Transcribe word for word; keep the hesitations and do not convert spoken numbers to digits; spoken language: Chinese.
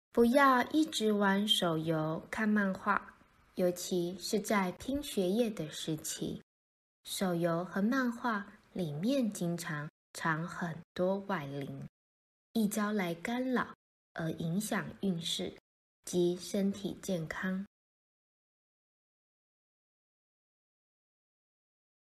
不要一直玩手游、看漫画，尤其是在拼学业的时期。手游和漫画里面经常藏很多外灵，易招来干扰，而影响运势及身体健康。